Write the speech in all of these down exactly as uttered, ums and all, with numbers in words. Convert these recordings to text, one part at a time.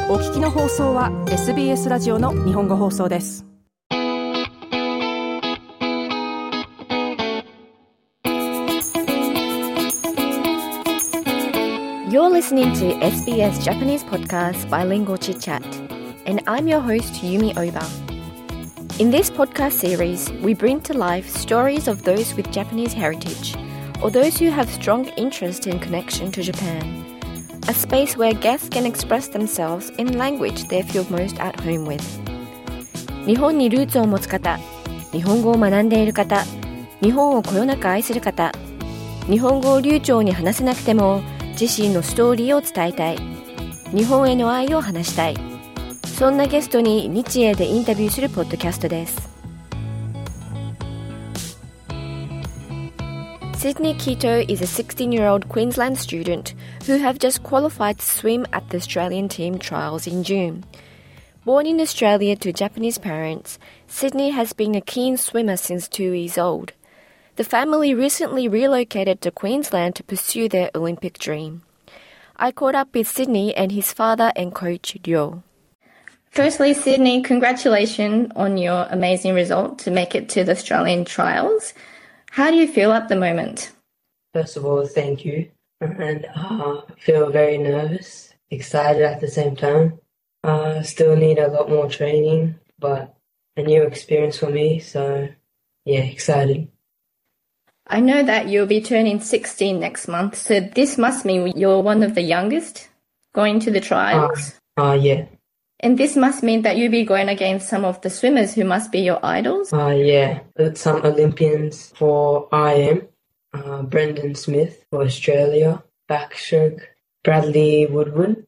お聞きの放送は エスビーエス ラジオの日本語放送です。 You're listening to エスビーエス Japanese podcast Bilingual Chit Chat, and I'm your host Yumi Oba. In this podcast series, we bring to life stories of those with Japanese heritage, or those who have strong interest in connection to Japan. A space where guests can express themselves in language they feel most at home with. 日本にルーツを持つ方、日本語を学んでいる方、日本をこよなく愛する方、日本語を流暢に話せなくても自身のストーリーを伝えたい、日本への愛を話したい、そんなゲストに日英でインタビューするポッドキャストです。Sydney Kito is a sixteen-year-old Queensland student who have just qualified to swim at the Australian team trials in June. Born in Australia to Japanese parents, Sydney has been a keen swimmer since two years old. The family recently relocated to Queensland to pursue their Olympic dream. I caught up with Sydney and his father and coach Ryo. Firstly, Sydney, congratulations on your amazing result to make it to the Australian trials. How do you feel at the moment? First of all, thank you. And uh, I feel very nervous, excited at the same time. I uh, still need a lot more training, but a new experience for me, so yeah, excited. I know that you'll be turning sixteen next month, so this must mean you're one of the youngest going to the trials? Uh, uh yeah. And this must mean that you'll be going against some of the swimmers who must be your idols? Uh, yeah, some Olympians for I M, uh, Brendan Smith for Australia, backstroke, Bradley Woodward.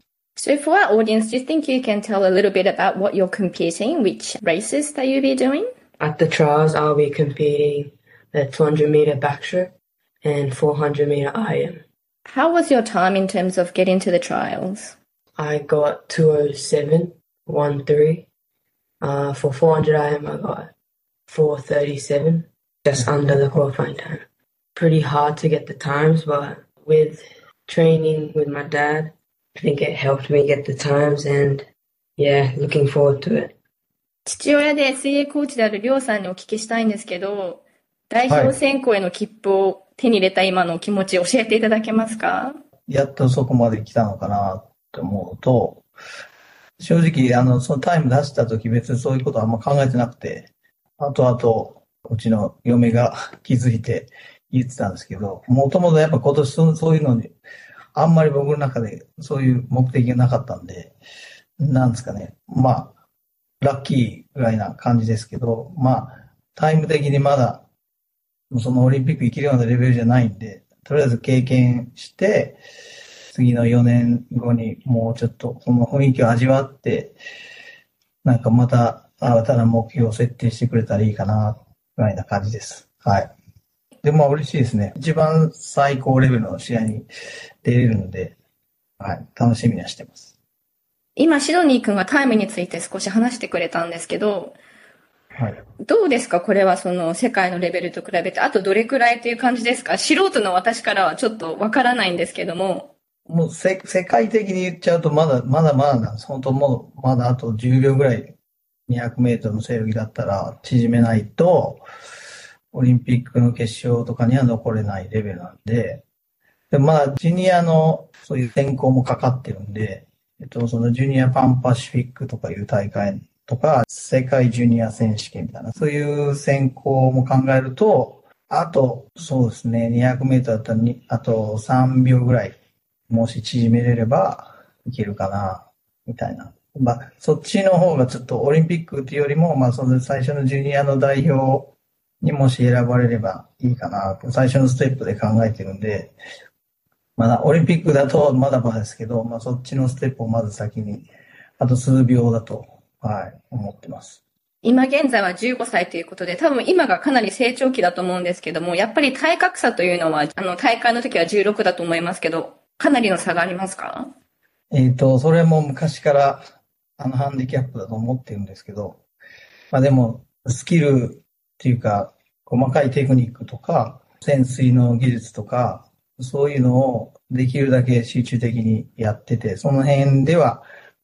So for our audience, do you think you can tell a little bit about what you're competing, which races that you'll be doing? At the trials, I'll be competing the two hundred meter backstroke and four hundred meter I M. How was your time in terms of getting to the trials? I got two oh seven point one three. Uh, for four hundred I M, I got four thirty-seven, just under the qualifying time. Pretty hard to get the times, but with training with my dad, I think it helped me get the times, and yeah, looking forward to it. 父親で水泳コーチであるりょうさんにお聞きしたいんですけど、代表選考への切符を手に入れた今の気持ちを教えていただけますか？ やっとそこまで来たのかなと思うと、正直、あの、そのタイム出した時別にそういうことはあんま考えてなくて、後々、うちの嫁が気づいて言ってたんですけど、もともとやっぱ今年そういうのに、あんまり僕の中でそういう目的がなかったんで、なんですかね、まあ、ラッキーぐらいな感じですけど、まあ、タイム的にまだ、そのオリンピック行けるようなレベルじゃないんで、とりあえず経験して、次のよねんごにもうちょっとこの雰囲気を味わって、なんかまた新たな目標を設定してくれたらいいかな、ぐらいな感じです。はい。でもまあ嬉しいですね。一番最高レベルの試合に出れるので、はい、楽しみにはしてます。 今、シドニー君がタイムについて少し話してくれたんですけど、 はい、 どうですかこれはその世界のレベルと比べて、あとどれくらいという感じですか？素人の私からはちょっとわからないんですけども。 もうせ世界的に言っちゃうとまだまだまだなんです。本当もうまだあとじゅうびょうぐらいにひゃくメートルの背泳ぎだったら縮めないとオリンピックの決勝とかには残れないレベルなんで、でまあジュニアのそういう選考もかかってるんで、えっとそのジュニアパンパシフィックとかいう大会とか世界ジュニア選手権みたいなそういう選考も考えると、あとそうですねにひゃくメートルだったらにあとさんびょうぐらいもし縮めれればいけるかな、みたいな。まあ、そっちの方がちょっとオリンピックっていうよりも、まあ、その最初のジュニアの代表にもし選ばれればいいかな、最初のステップで考えてるんで、まだオリンピックだとまだまだですけど、まあ、そっちのステップをまず先に、あと数秒だと、はい、思ってます。 今現在はじゅうごさいということで、多分今がかなり成長期だと思うんですけども、やっぱり体格差というのは、あの、大会の時はじゅうろくだと思いますけど、かなりの差がありますか？ えっと、それも昔からあのハンディキャップだと思ってるんですけど、まあでもスキルっていうか細かいテクニックとか潜水の技術とかそういうのをできるだけ集中的にやってて、その辺では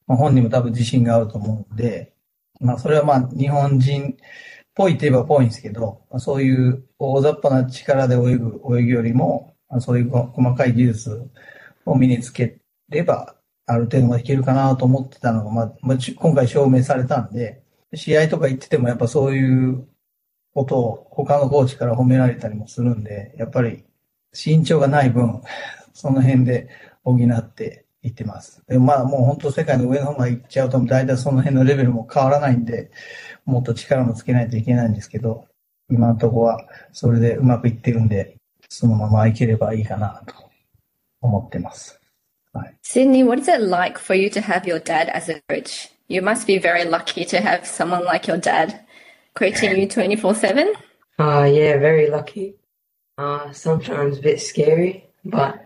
まあ、本人も多分自信があると思うんで、まあそれはまあ日本人っぽいといえばぽいんですけど、まあ、そういう大雑把な力で泳ぐ泳ぎよりも、まあ、そういう細かい技術を身につければ、ある程度までいけるかなと思ってたのが、まあ、まあ、今回証明されたんで、試合とか行っててもやっぱそういうことを他のコーチから褒められたりもするんで、やっぱり身長がない分、その辺で補っていってます。でまあもう本当世界の上の方まで行っちゃうと大体その辺のレベルも変わらないんで、もっと力もつけないといけないんですけど、今のところはそれでうまくいってるんで、そのままいければいいかなと思ってます。はい。 Sydney, what is it like for you to have your dad as a coach? You must be very lucky to have someone like your dad coaching you twenty-four seven. Uh, yeah, very lucky. Uh, sometimes a bit scary, but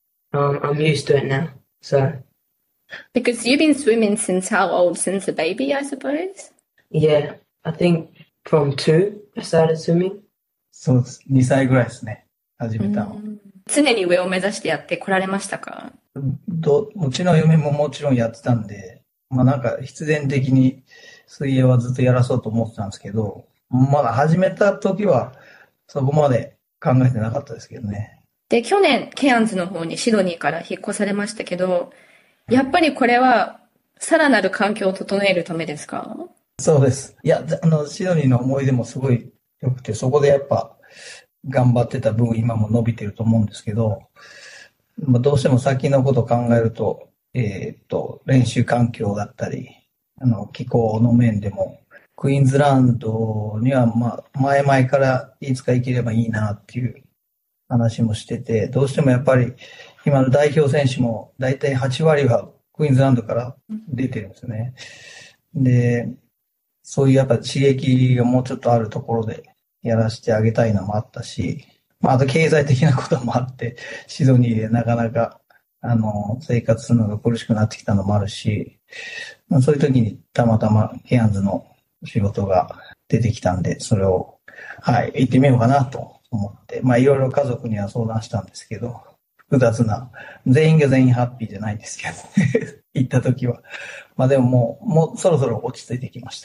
um, I'm used to it now. So Because you've been swimming since how old? Since a baby, I suppose? yeah, I think from two I started swimming. そうです。にさいぐらいですね。始めたの。 常に上を目指してやってこられましたか？ どうちの嫁ももちろんやってたんで、まあなんか必然的に水泳はずっとやらそうと思ってたんですけど、まだ始めた時はそこまで考えてなかったですけどね。 で、去年、ケアンズの方にシドニーから引っ越されましたけど、やっぱりこれはさらなる環境を整えるためですか？ そうです。いや、あの、シドニーの思い出もすごい良くて、そこでやっぱ頑張ってた分今も伸びてると思うんですけど、まあ、どうしても先のことを考えると、えーっと、練習環境だったり、あの、気候の面でも、クイーンズランドには、まあ、前々からいつか行ければいいなっていう話もしてて、どうしてもやっぱり今の代表選手もだいたいはち割はクイーンズランドから出てるんですよね。で、そういうやっぱ刺激がもうちょっとあるところでやらせてあげたいのもあったし、まあ、あと経済的なこともあって、シドニーでなかなか、あの、生活するのが苦しくなってきたのもあるし、まあ、そういう時にたまたまケアンズの仕事が出てきたんで、それを、はい、行ってみようかなと思って、まあ、いろいろ家族には相談したんですけど、複雑な、全員が全員ハッピーじゃないんですけど、行った時は。まあでももう、もうそろそろ落ち着いてきました。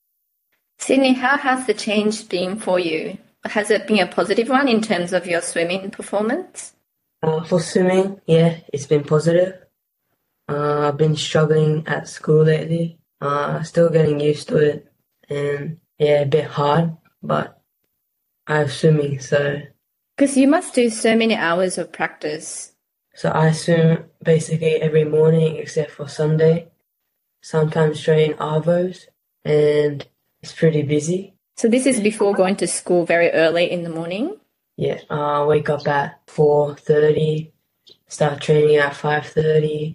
Sydney, how has the change been for you? Has it been a positive one in terms of your swimming performance? Uh, for swimming, yeah, it's been positive. Uh, I've been struggling at school lately. Uh, still getting used to it, and yeah, a bit hard, but I have swimming, so Because you must do so many hours of practice. so I swim basically every morning except for Sunday. Sometimes train arvos, and it's pretty busy. So this is before going to school very early in the morning? Yeah, uh, wake up at four thirty, start training at five thirty,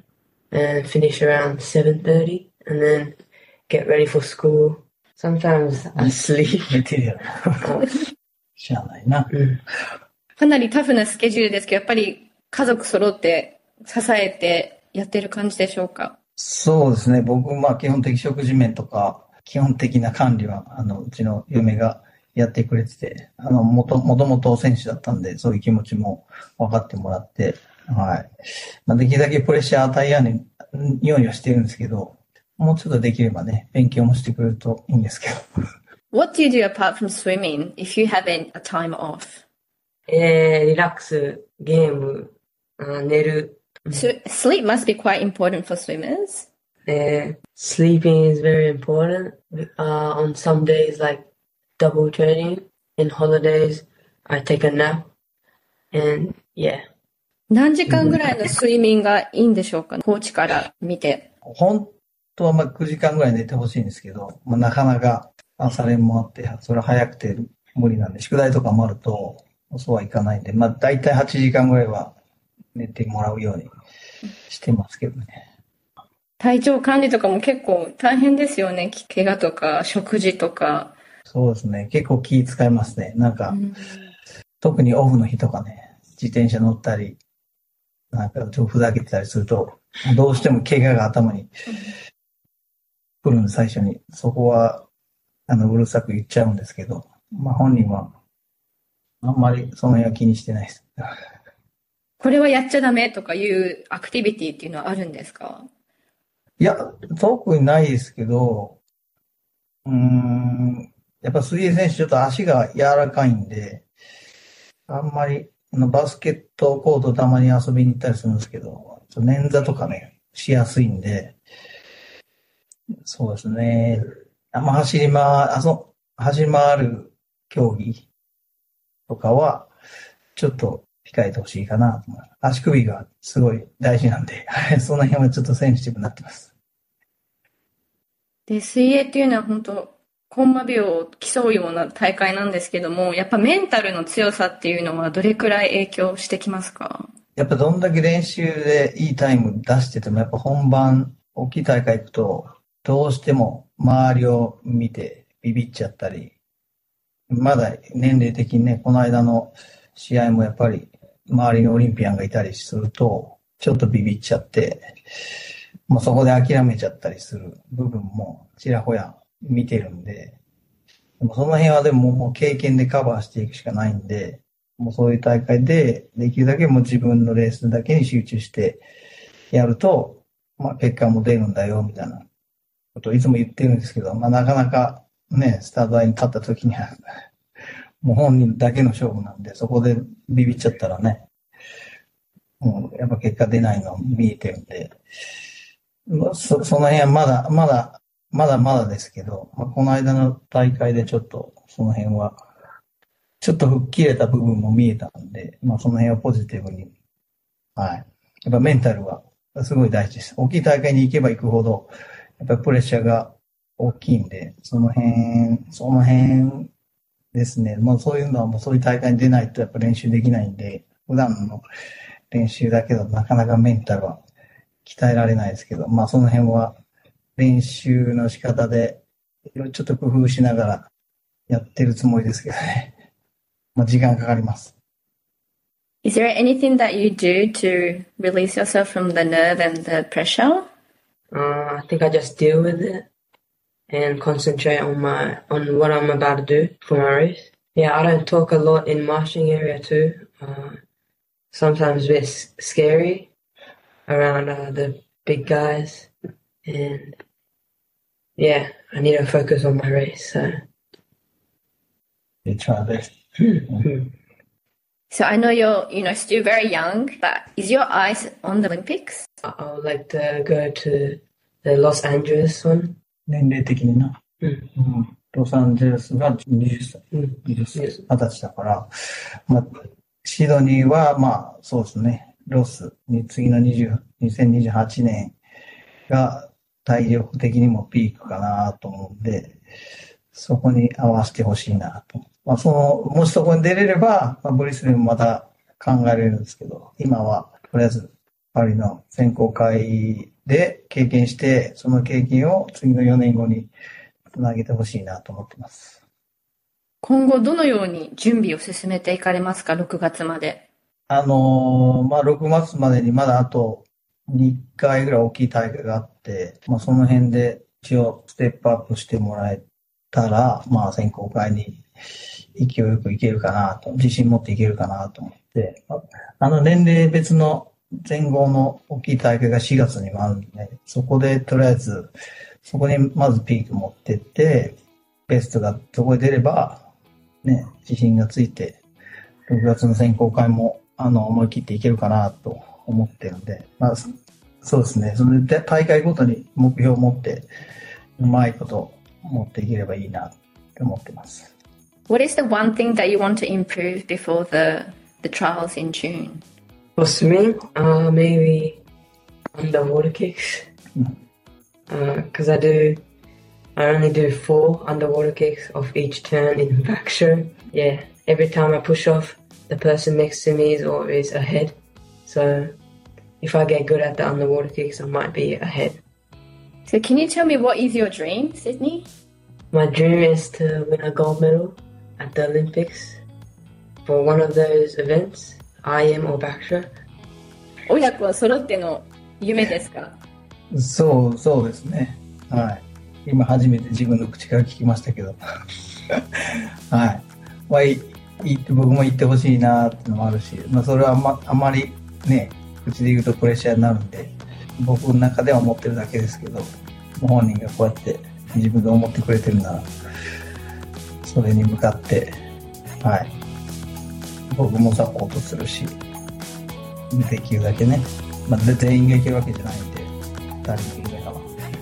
and finish around seven thirty, and then get ready for school. Sometimes I sleep. 寝てるやろ。知らないな。 かなりタフなスケジュールですけど、やっぱり家族揃って支えてやってる感じでしょうか？ そうですね。僕、まあ基本的食事面とか、基本的な管理は、あの、うちの嫁がやってくれてて、あの、もと、もともと選手だったんで、そういう気持ちも分かってもらって、はい。まあ、できるだけプレッシャー与えやんようにはしてるんですけど、もうちょっとできればね、勉強もしてくれるといいんですけど。 What do you do apart from swimming if you have a time off? えー、リラックス、ゲーム、あ寝る。 So sleep must be quite important for swimmers. Uh, sleeping is very important. Uh, on some days, like double training. In holidays, I take a nap. And yeah. 何時間ぐらいの睡眠がいいんでしょうか？コーチから見て。 本当はまあくじかんぐらい寝てほしいんですけど、まあ、なかなか朝練もあって、それは早くて無理なんで、宿題とかもあると、そうはいかないんで、まあ大体はちじかんぐらいは寝てもらうようにしてますけどね。 体調管理とかも結構大変ですよね。怪我とか食事とか。 そうですね。結構気使いますね。なんか、うん、特にオフの日とかね、自転車乗ったり、なんかちょっとふざけてたりすると、どうしても怪我が頭に来るんで、最初に。そこは、あの、うるさく言っちゃうんですけど、まあ本人は、あんまりその辺は気にしてないです。 これはやっちゃダメとかいうアクティビティっていうのはあるんですか？ いや、特にないですけど、うーん、やっぱ水泳選手ちょっと足が柔らかいんで、あんまり、バスケットコートたまに遊びに行ったりするんですけど、捻挫とかね、しやすいんで、そうですね。あんま走りま、あそ、走り回る競技とかは、ちょっと控えてほしいかなと思います。足首がすごい大事なんで、その辺はちょっとセンシティブになってます。 で、水泳っていうのは本当、コンマ秒を競うような大会なんですけども、やっぱメンタルの強さっていうのはどれくらい影響してきますか？ やっぱどんだけ練習でいいタイム出してても、やっぱ本番、大きい大会行くと、どうしても周りを見てビビっちゃったり、まだ年齢的にね、この間の試合もやっぱり周りにオリンピアンがいたりすると、ちょっとビビっちゃって、もうそこで諦めちゃったりする部分もちらほや見てるんで、でもその辺はでももう経験でカバーしていくしかないんで、もうそういう大会でできるだけもう自分のレースだけに集中してやると、まあ結果も出るんだよみたいなことをいつも言ってるんですけど、まあなかなかね、スタートラインに立った時にはもう本人だけの勝負なんで、そこでビビっちゃったらね、もうやっぱ結果出ないの見えてるんで、そ, その辺はまだ、まだ、まだまだですけど、まあ、この間の大会でちょっとその辺は、ちょっと吹っ切れた部分も見えたんで、まあその辺はポジティブに、はい。やっぱメンタルはすごい大事です。大きい大会に行けば行くほど、やっぱりプレッシャーが大きいんで、その辺、その辺ですね。もうそういうのはもうそういう大会に出ないとやっぱ練習できないんで、普段の練習だけどなかなかメンタルは鍛えられないですけど、まあその辺は練習の仕方でちょっと工夫しながらやってるつもりですけどね。まあ時間かかります。 Is there anything that you do to release yourself from the nerve and the pressure? Uh, I think I just deal with it and concentrate on my on what I'm about to do for my race. Yeah, I don't talk a lot in marching area too. Uh, sometimes a bit scary around uh, the big guys, and yeah, I need to focus on my race. So, you try this. So I know you're, you know, still very young, but is your eyes on the Olympics? I would like to go to the Los Angeles one. 年齢的にな。 うん。 うん。ロサンゼルスがはたち。 うん。 はたち。はたちだから、まあ、シドニーは、まあ、そうですね。ロスに次のにせんにじゅうはちねんが体力的にもピークかなと思うんで、そこに合わせてほしいなと。まあ、その、もしそこに出れれば、まあ、ブリスベンもまた考えられるんですけど、今は、とりあえず、パリの選考会で経験して、その経験を次のよねんごにつなげてほしいなと思ってます。 今後どのように準備を進めていかれますか、ろくがつまで。 あのー、まあ、ろくがつまでにまだあとにかいぐらい大きい大会があって、まあ、その辺で一応ステップアップしてもらえたら、まあ、選考会に勢いよくいけるかなと、自信持っていけるかなと思って、あの年齢別の前後の大きい大会がしがつにもあるんで、ね、そこでとりあえず、そこにまずピーク持ってって、ベストがそこで出れば、ね、自信がついて、ろくがつの選考会も、あの、思い切っていけるかなと思ってるんで、まあ、そうですね、その大会ごとに目標を持って、うまいこと持っていければいいなって思ってます。 What is the one thing that you want to improve before the, the trials in June? For swimming, uh, maybe underwater kicks. Because uh, I do, I only do four underwater kicks off each turn in back stroke. Yeah, every time I push off, the person next to me is always ahead. So if I get good at the underwater kicks, I might be ahead. So can you tell me what is your dream, Sydney? My dream is to win a gold medal at the Olympics for one of those events, I M or backstroke. 親子は揃っての夢ですか？ そう、そうですね。はい。今初めて自分の口から聞きましたけど。はい。まあ、いい僕も言ってほしいなっていうのもあるし、まあそれはあんま、あまりね、口で言うとプレッシャーになるんで、 僕の中では思ってるだけですけど、本人がこうやって自分で思ってくれてるなら、それに向かって、はい、僕もサポートするし、できるだけね、まあ、全員がいけるわけじゃないんで、誰もいるかな。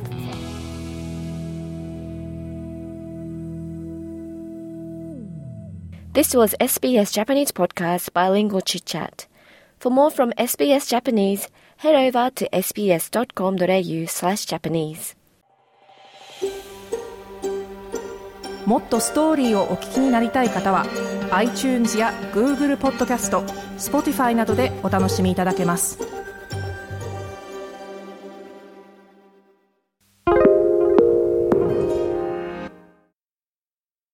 This was S B S Japanese Podcast Bilingual Chit Chat. For more from S B S Japanese, head over to sbs.com.au slash Japanese. もっとストーリーをお聞きになりたい方は iTunes や Google ポッドキャスト、Spotify などでお楽しみいただけます。